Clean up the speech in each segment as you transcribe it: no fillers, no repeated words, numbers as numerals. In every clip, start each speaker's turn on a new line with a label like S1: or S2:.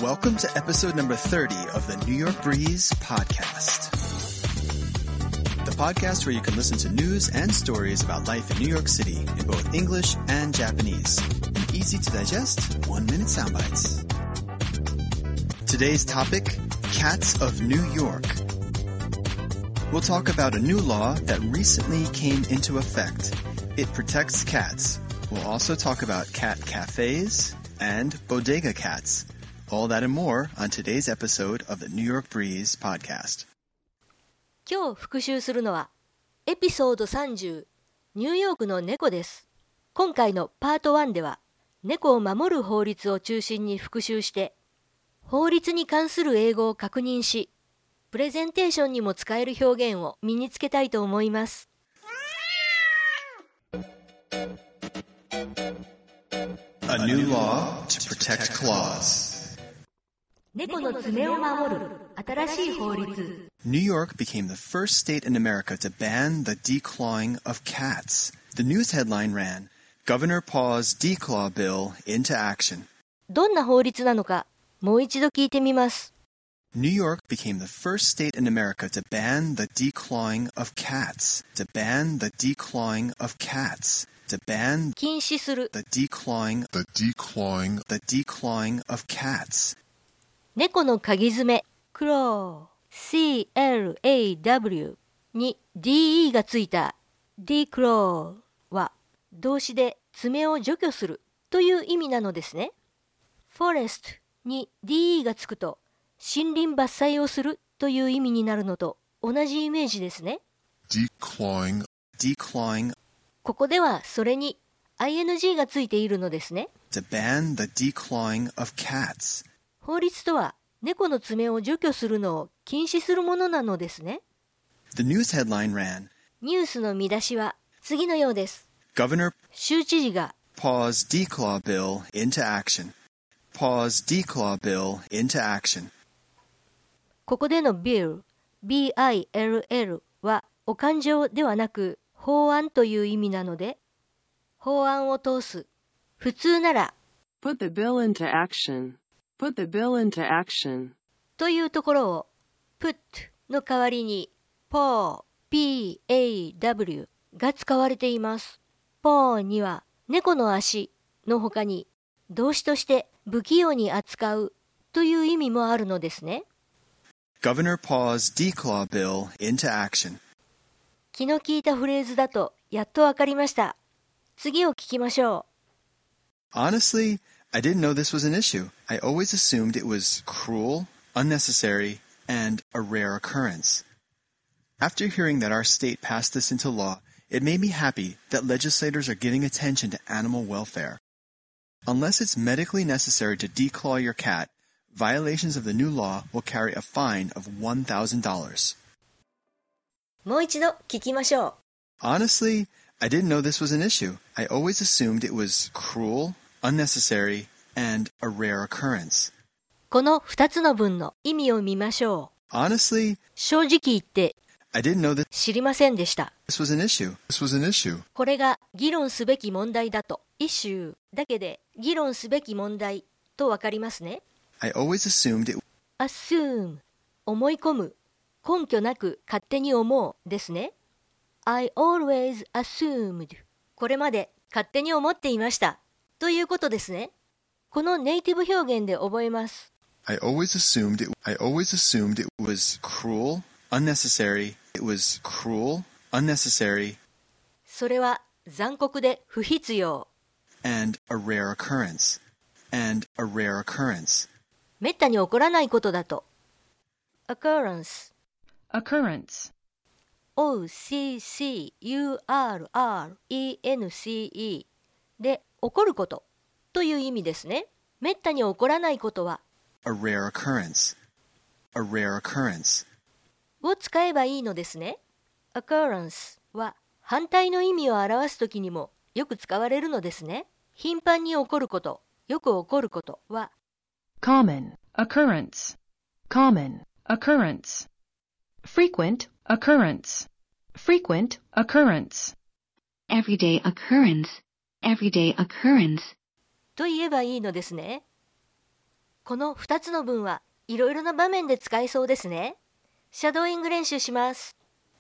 S1: Welcome to episode number 30 of the New York Breeze podcast. The podcast where you can listen to news and stories about life in New York City in both English and Japanese in easy to digest 1-minute sound bites. Today's topic, Cats of New York. We'll talk about a new law that recently came into effect. It protects cats. We'll also talk about cat cafes and bodega cats. All that and more on today's episode of the New York Breeze podcast.
S2: 今日復習するのはエピソード30ニューヨークの猫です。今回のパート1では猫を守る法律を中心に復習して法律に関する英語を確認しプレゼンテーションにも使える表現を身につけたいと思います。
S1: A new law to protect claws.
S2: 猫の爪を守る新しい法律。
S1: New York became the first state in America to ban the declawing of cats. The news headline ran, Governor paws declaw bill into action.
S2: どんな法律なのかもう一度聞いてみます。
S1: New York became the first state in America to ban the declawing of cats. To ban the declawing of cats. To ban
S2: 禁止する
S1: the declawing of cats.
S2: 猫の鍵爪クロー CLAW に DE がついた declaw は動詞で爪を除去するという意味なのですね。forest に DE がつくと森林伐採をするという意味になるのと同じイメージですね。
S1: declawing
S2: ここではそれに ING がついているのですね。
S1: To ban the declawing of cats.
S2: 法律とは猫の爪を除去するのを禁止するものなのですね。
S1: The news headline ran,
S2: ニュースの見出しは次のようです。
S1: Governor
S2: 州知事が
S1: paws declaw bill into action. Paws declaw bill into action.
S2: ここでの bill、bill はお勘定ではなく法案という意味なので、法案を通す。普通なら
S3: Put the bill into action.Put the bill into action.
S2: というところを put の代わりに paw が使われています。paw には猫の足の他に動詞として不器用に扱うという意味もあるのですね。
S1: Governor paws declaw bill into action.
S2: 気の利いたフレーズだとやっとわかりました。次を聞きましょ
S1: う。Honestly, I didn't know this was an issue. I always assumed it was cruel, unnecessary, and a rare occurrence. After hearing that our state passed this into law, it made me happy that legislators are giving attention to animal welfare. Unless it's medically necessary to declaw your cat, violations of the new law will carry a fine of $1,000.
S2: もう一度聞きましょう。
S1: Honestly, I didn't know this was an issue. I always assumed it was cruel,unnecessary, and a rare occurrence.
S2: この2つの文の意味を見ましょう。
S1: Honestly,
S2: 正直言って
S1: I didn't know that
S2: 知りませんでした。
S1: This was an issue.
S2: これが議論すべき問題だと。イシューだけで議論すべき問題とわかりますね。
S1: I always assumed it.
S2: assume 思い込む。根拠なく勝手に思うですね。I always assumed これまで勝手に思っていました。ということですね。このネイティブ表現で覚えます。
S1: I always assumed it was cruel, unnecessary. It was cruel, unnecessary.
S2: それは残酷で不必要。
S1: And a rare occurrence.
S2: めったに起こらないことだと。occurrence OCCURRENCE で起こることという意味ですね。めったに起こらないことは
S1: A rare occurrence
S2: を使えばいいのですね。occurrence は反対の意味を表すときにもよく使われるのですね。頻繁に起こること、よく起こることは
S3: common occurrence frequent occurrence
S4: everyday occurrence
S2: と言えばいいのですね。 この2つの文はいろいろな場面で使えそうですね。シャドーイング練習します。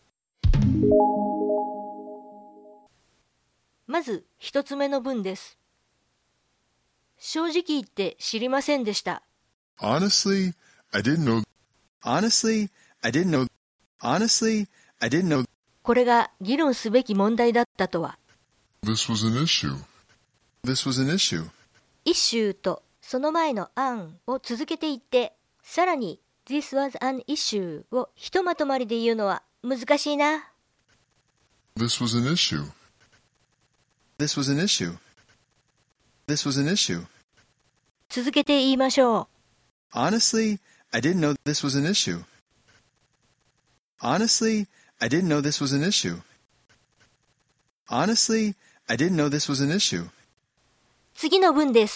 S2: まず1つ目の文です。正直言って知りませんでした。
S4: Honestly, I didn't know.
S1: Honestly, I didn't know. Honestly, I didn't know.
S2: これが議論すべき問題だったとは。
S4: This was an issue.
S1: This was an issue.
S2: イシューとその前の an を続けていって、さらに This was an issue をひとまとまりで言うのは難しいな。
S4: This was an issue.
S1: This was an issue. This was an issue.
S2: 続けて言いましょう。
S1: Honestly, I didn't know this was an issue. Honestly, I didn't know this was an issue. Honestly, I didn't know this was an issue.
S2: 次の文です。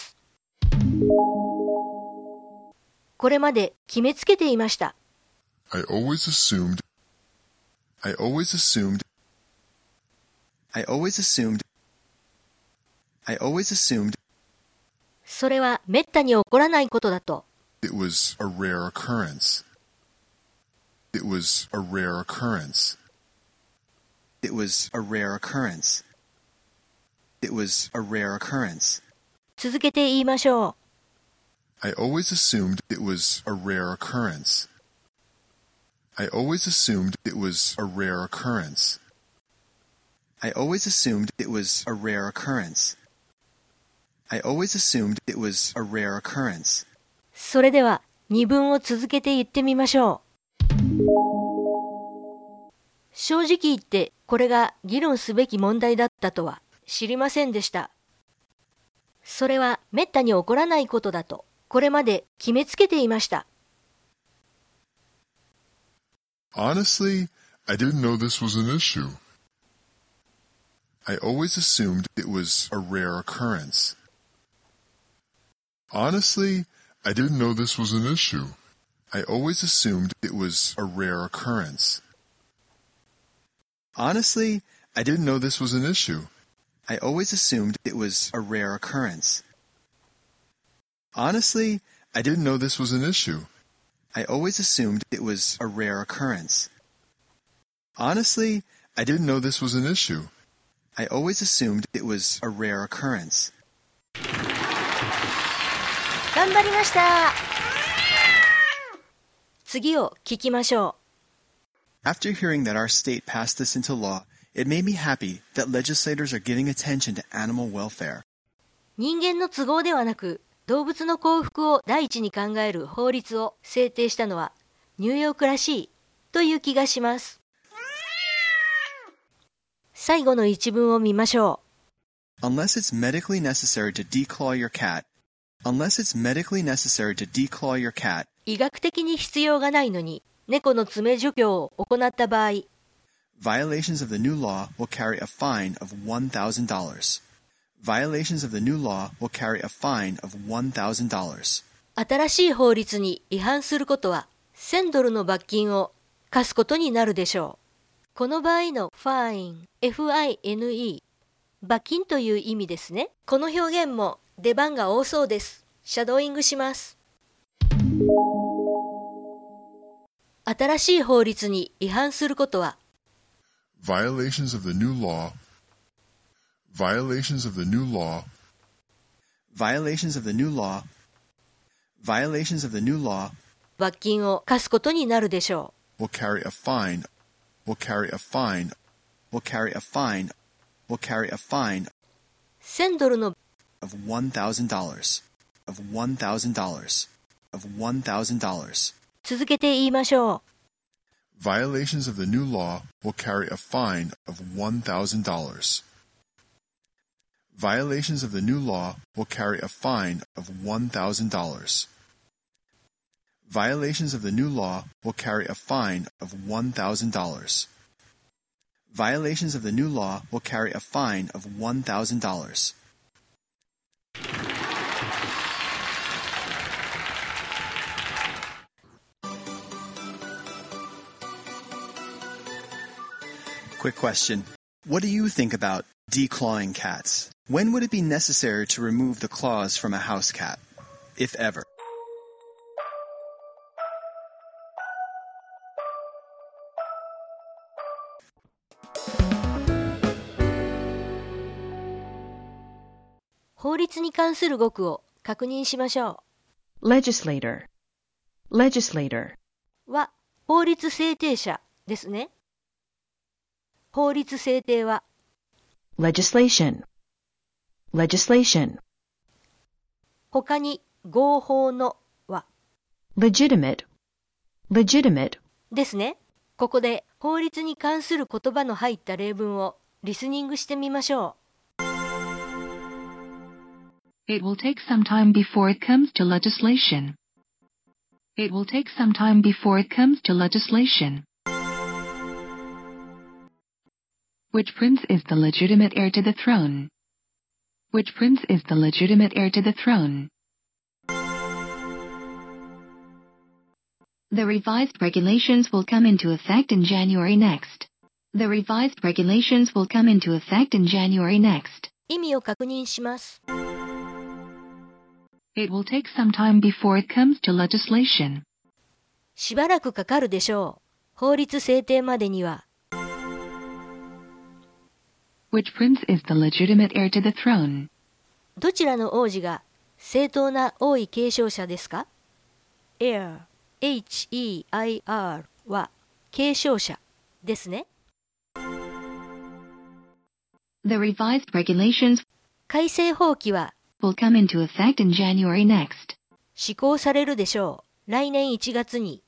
S2: これまで決めつけていました。
S4: I always assumed. I always assumed.
S1: I always assumed. I always assumed.
S2: それはめったに起こらないことだと。
S4: It was a rare occurrence. It was a rare occurrence.
S1: It was a rare occurrence. It was a rare occurrence.
S2: 続けて言いましょう。
S4: I always assumed it was a rare occurrence. I always assumed it was a rare occurrence.
S1: I always assumed it was a rare occurrence. I always assumed it was a rare occurrence.
S2: それでは2文を続けて言ってみましょう。正直言ってこれが議論すべき問題だったとは知りませんでした。それはめったに起こらないことだとこれまで決めつけていました。
S4: Honestly, I didn't know this was an issue. I always assumed it was a rare occurrence. Honestly, I didn't know this was an issue. I always assumed it was a rare occurrence.
S1: Honestly, I didn't know this was an issue. I always assumed it was a rare occurrence. Honestly, I didn't know this was an issue. I always assumed it was a rare occurrence. Honestly, I didn't know this was an issue. I always assumed it was a rare occurrence.
S2: 頑張りました。次を聞きましょ
S1: う。After hearing that our state passed this into law, it made me happy that legislators are giving attention to animal welfare.
S2: 人間の都合ではなく、動物の幸福を第一に考える法律を制定したのはニューヨークらしいという気がします。最後の一文を見ましょ
S1: う。Unless it's medically necessary to declaw your cat. Unless it's medically necessary to declaw your cat.
S2: 医学的に必要がないのに猫の爪除去を行った場合。
S1: Violations of the new law will carry a fine of $1,000. Violations of the new law will carry a fine of $1,000.
S2: 新しい法律に違反することは$1,000の罰金を課すことになるでしょう。この場合の fine、F-I-N-E、罰金という意味ですね。この表現も出番が多そうです。シャドーイングします。新しい法律に違反することは
S4: Violations of the new law. Violations of the new law.
S1: Violations of the new law. Violations of the new law.
S2: 罰金を課すことになるでしょ
S4: う。Will carry a fine. Will carry a fine.
S1: Will carry a fine. Will carry a fine.
S2: $1,000の
S1: of $1,000. Of $1,000. Of $1,000.
S2: 続けて言いましょう。
S4: Violations of the new law will carry a fine of $1,000. Violations of the new law will carry a fine of $1,000. Violations of the new law will carry a fine of $1,000. Violations of the new law will carry a fine of $1,000. Quick question. What do you think about declawing cats? When would it be necessary to remove the claws from a house cat, if ever?
S2: 法律に関する語句を確認しましょ
S5: legislator, legislator,
S2: う。は、法律制定者ですね。法律制定は、
S5: legislation, legislation,
S2: 他に合法のは、
S5: legitimate, legitimate,
S2: ですね。ここで法律に関する言葉の入った例文をリスニングしてみましょう。
S6: It will take some time before it comes to legislation. It will take some time before it comes to legislation. Which prince is the legitimate heir to the throne? Which prince is the legitimate heir to the throne? The revised regulations will come into effect in January next. The revised regulations will come into effect in January next.
S2: 意味を確認します。
S6: It will take some time before it comes to legislation.
S2: しばらくかかるでしょう。法律制定までには。
S6: Which prince is the legitimate heir to the throne?
S2: どちらの王子が正当な王位継承者ですか？ heir, H-E-I-R は継承者ですね。
S6: The revised regulations
S2: 改正法規は
S6: will come into effect in January next.
S2: 施行されるでしょう。来年1月に。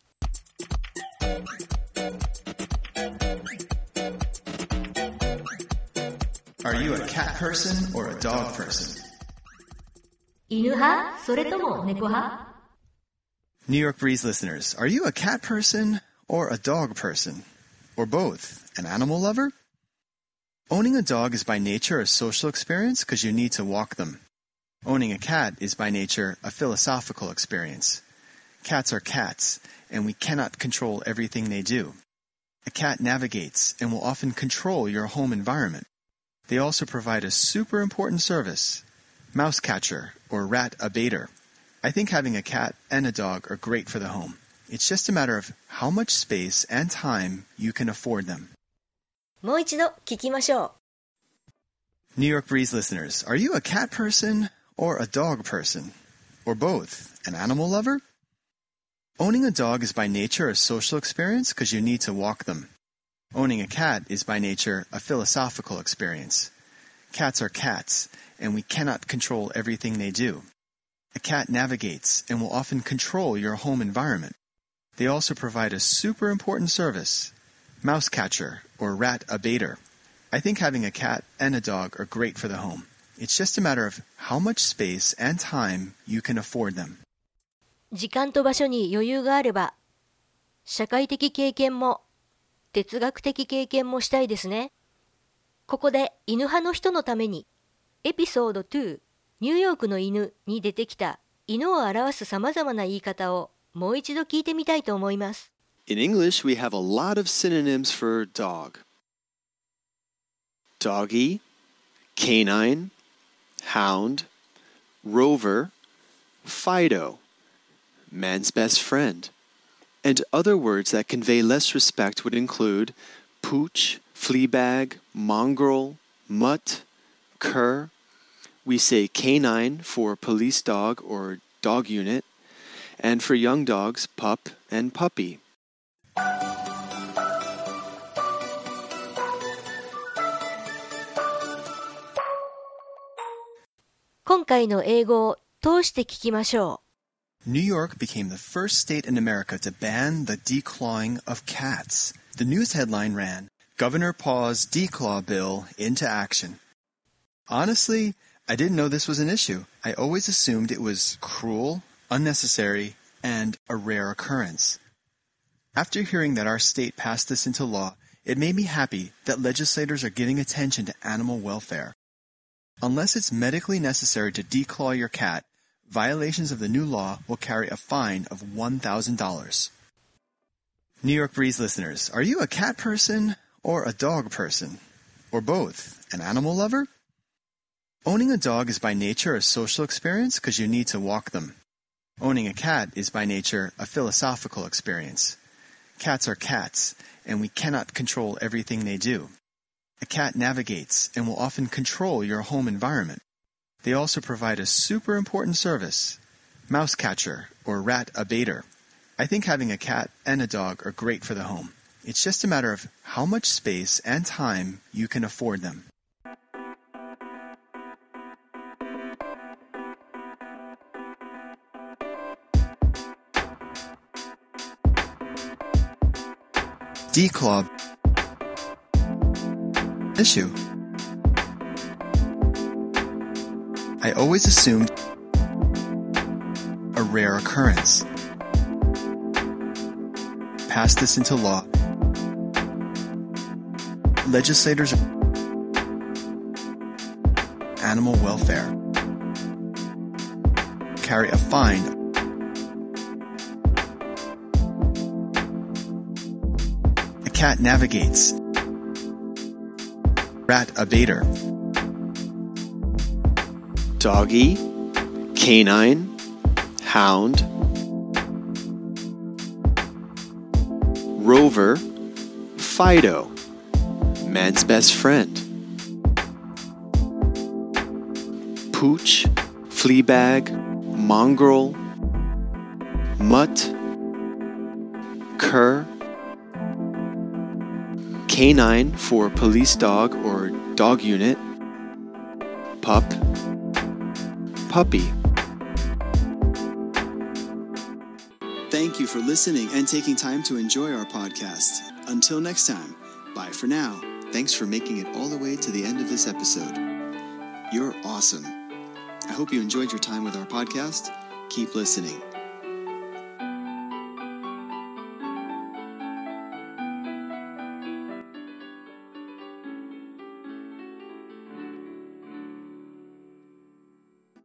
S1: Are you a cat person or a dog person?
S2: 犬派？それとも猫派？
S1: New York Breeze listeners, are you a cat person or a dog person? Or both? An animal lover? Owning a dog is by nature a social experience because you need to walk them. Owning a cat is by nature a philosophical experience. Cats are cats, and we cannot control everything they do. A cat navigates and will often control your home environment. They also provide a super important service, mouse catcher or rat abater. I think having a cat and a dog are great for the home. It's just a matter of how much space and time you can afford them.
S2: もう一度聞きましょう。
S1: New York Breeze listeners, are you a cat person or a dog person? Or both? An animal lover? Owning a dog is by nature a social experience because you need to walk them. Owning a cat is by nature a philosophical experience. Cats are cats, and we cannot control everything they do. A cat navigates and will often control your home environment. They also provide a super important service, mouse catcher or rat abater. I think having a cat and a dog are great for the home. It's just a matter of how much space and time you can afford them.
S2: 時間と場所に余裕があれば、社会的経験も哲学的経験もしたいですね。ここで犬派の人のために、エピソード2、ニューヨークの犬に出てきた犬を表すさまざまな言い方をもう一度聞いてみたいと思います。
S7: In English, we have a lot of synonyms for dog. Doggy, canine, hound, rover, Fido, man's best friend. And other words that convey less respect would include pooch, fleabag, mongrel, mutt, cur. We say canine for police dog or dog unit, and for young dogs, pup and puppy.
S2: 今回の英語を通して聞きましょう。
S1: New York became the first state in America to ban the declawing of cats. The news headline ran, Governor Paw's declaw bill into action. Honestly, I didn't know this was an issue. I always assumed it was cruel, unnecessary, and a rare occurrence. After hearing that our state passed this into law, it made me happy that legislators are giving attention to animal welfare. Unless it's medically necessary to declaw your cat, violations of the new law will carry a fine of $1,000. New York Breeze listeners, are you a cat person or a dog person? Or both? An animal lover? Owning a dog is by nature a social experience because you need to walk them. Owning a cat is by nature a philosophical experience. Cats are cats, and we cannot control everything they do. A cat navigates and will often control your home environment.
S4: They also provide a super important service, mouse catcher or rat abater. I think having a cat and a dog are great for the home. It's just a matter of how much space and time you can afford them. Declaw issue. I always assumed a rare occurrence. Pass this into law. Legislators animal welfare carry a fine. A cat navigates. Rat abater.
S7: Doggy, canine, hound, Rover, Fido, man's best friend, Pooch, Fleabag, Mongrel, Mutt, Cur, Canine for police dog or dog unit, Pup, Puppy.
S1: Thank you for listening and taking time to enjoy our podcast. Until next time, bye for now. Thanks for making it all the way to the end of this episode. You're awesome. I hope you enjoyed your time with our podcast. Keep listening.